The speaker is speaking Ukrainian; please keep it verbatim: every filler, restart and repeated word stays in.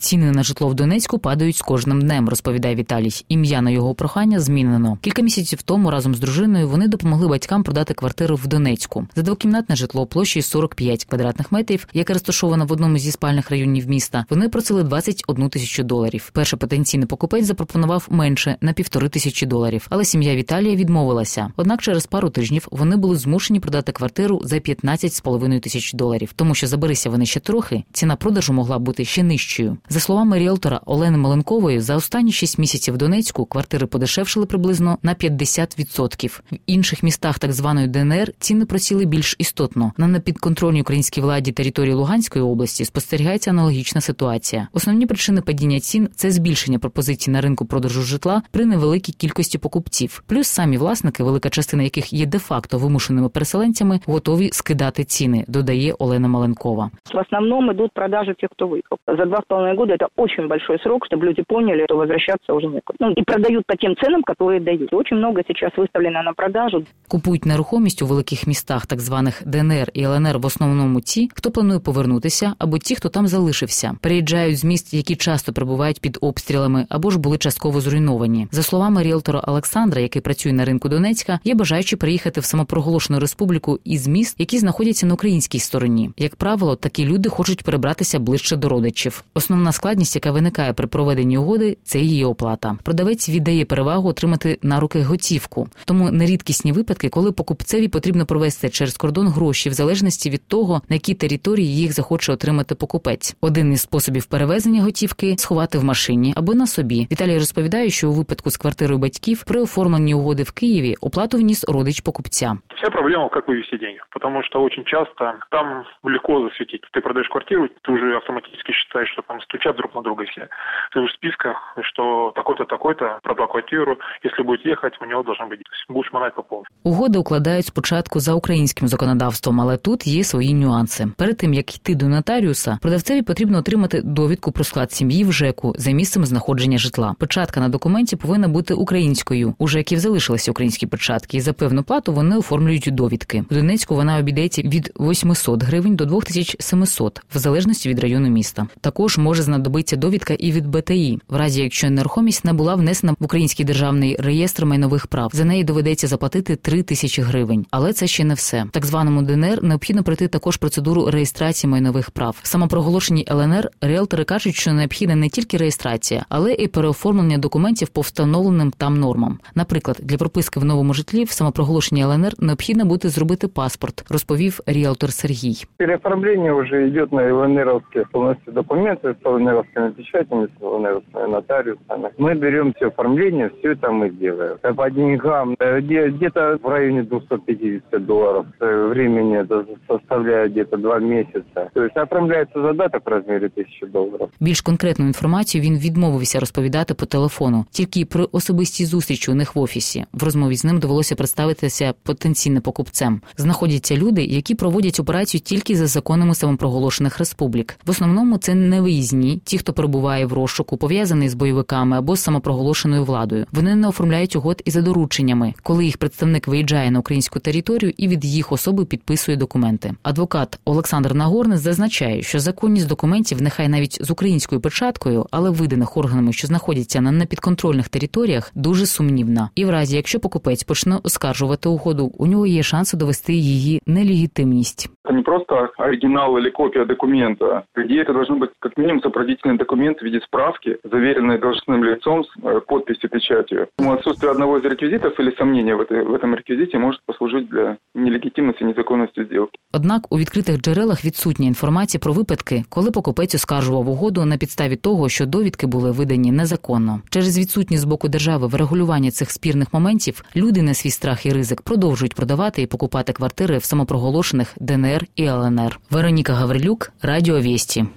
Ціни на житло в Донецьку падають з кожним днем, розповідає Віталій. Ім'я на його прохання змінено. Кілька місяців тому разом з дружиною вони допомогли батькам продати квартиру в Донецьку. За двокімнатне житло площею сорок п'ять квадратних метрів, яке розташовано в одному зі спальних районів міста, вони просили двадцять одну тисячу доларів. Перший потенційний покупець запропонував менше – на півтори тисячі доларів. Але сім'я Віталія відмовилася. Однак через пару тижнів вони були змушені продати квартиру за п'ятнадцять з половиною тисяч доларів. Тому що заберися вони ще трохи, ціна продажу могла бути ще нижчою. За словами ріелтора Олени Маленкової, за останні шість місяців в Донецьку квартири подешевшили приблизно на п'ятдесят відсотків. В інших містах так званої ДНР ціни просіли більш істотно. На непідконтрольній українській владі території Луганської області спостерігається аналогічна ситуація. Основні причини падіння цін – це збільшення пропозицій на ринку продажу житла при невеликій кількості покупців. Плюс самі власники, велика частина яких є де-факто вимушеними переселенцями, готові скидати ціни, додає Олена Маленкова. В основном идут продажи тех, кто выехал. За два с половиной года это очень большой срок, чтобы люди поняли, что возвращаться уже некуда. Ну, и продают по тем ценам, которые дают. Очень много сейчас выставлено на продажу. Купують нерухомість у великих містах, так званих ДНР і ЛНР, в основному ті, хто планує повернутися, або ті, хто там залишився. Переїжджають з міст, які часто перебувають під обстрілами, або ж були частково зруйновані. За словами ріелтора Олександра, який працює на ринку Донецька, є бажаючі приїхати в самопроголошену республіку із міст, які знаходяться на українській стороні. Як правило, такі люди хочуть перебратися ближче до родичів. Основна складність, яка виникає при проведенні угоди, це її оплата. Продавець віддає перевагу отримати на руки готівку. Тому нерідкісні випадки, коли покупцеві потрібно провести через кордон гроші в залежності від того, на якій території їх захоче отримати покупець. Один із способів перевезення готівки – сховати в машині або на собі. Віталій розповідає, що у випадку з квартирою батьків при оформленні угоди в Києві оплату вніс родич покупця. Вся проблема, как вывести деньги, потому что очень часто там легко засветить. Ты продаешь квартиру, ты уже автоматически считаешь, что там стучат друг на друга все. Ты в списках, что такой-то, такой-то продал квартиру, если будет ехать, у него должно быть. Будешь манать по полной. Угоди укладають спочатку за українським законодавством, але тут є свої нюанси. Перед тим, як йти до нотаріуса, продавцеві потрібно отримати довідку про склад сім'ї в ЖЕКу за місцем знаходження житла. Печатка на документі повинна бути українською. У ЖЕКів залишилися українські печатки, і за певну плату вони оформлюють довідки. У Донецьку вона обійдеться від вісімсот гривень до дві тисячі сімсот, в залежності від району міста. Також може знадобитися довідка і від БТІ, в разі якщо нерухомість не була внесена в Український державний реєстр майнових прав. За неї доведеться заплатити три тисячі гривень. Але це ще не все. В так званому ДНР необхідно пройти також процедуру реєстрації майнових прав. В самопроголошеній ЛНР ріелтори кажуть, що необхідна не тільки реєстрація, але і переоформлення документів по встановленим там нормам. Наприклад, для прописки в новому житлі в самопроголошеній ЛНР необхідно буде зробити паспорт, розповів ріелтор Сергій. Переоформление уже идет на ЛНРовские полностью документы с ЛНРовскими печатями, с ЛНРовскими нотариусами. Мы берем все оформление, все это мы делаем. По деньгам где-то в районе двести пятьдесят долларов. Времени это составляет где-то два месяца. То есть оформляется задаток в размере тисячі доларів. Більш конкретну інформацію він відмовився розповідати по телефону. Тільки при особистій зустрічі у них в офісі. В розмові з ним довелося представитися потенційним покупцем. Знаходяться люди, які проводять операцію тільки за законами самопроголошених республік. В основному це невиїзні, ті, хто перебуває в розшуку, пов'язаний з бойовиками або з самопроголошеною владою. Вони не оформляють угод і за дорученнями, коли їх представник виїжджає на українську територію і від їх особи підписує документи. Адвокат Олександр Нагорний зазначає, що законність документів, нехай навіть з українською печаткою, але виданих органами, що знаходяться на непідконтрольних територіях, дуже сумнівна. І в разі, якщо покупець почне оскаржувати угоду, у нього є шанси довести її нелегітимність. Это не просто оригинал или копия документа. Где это должен быть как минимум сопроводительный документ в виде справки, заверенный должностным лицом с подписью, печатью. Отсутствие одного из реквизитов или сомнения в, этой, в этом реквизите может послужить для нелегитимности и незаконности сделки. Однак у відкритих джерелах відсутня інформація про випадки, коли покупець оскаржував угоду на підставі того, що довідки були видані незаконно. Через відсутність з боку держави врегулювання цих спірних моментів люди на свій страх і ризик продовжують продавати і покупати квартири в самопроголошених ДНР і ЛНР. Вероніка Гаврилюк, Радіо Вєсті.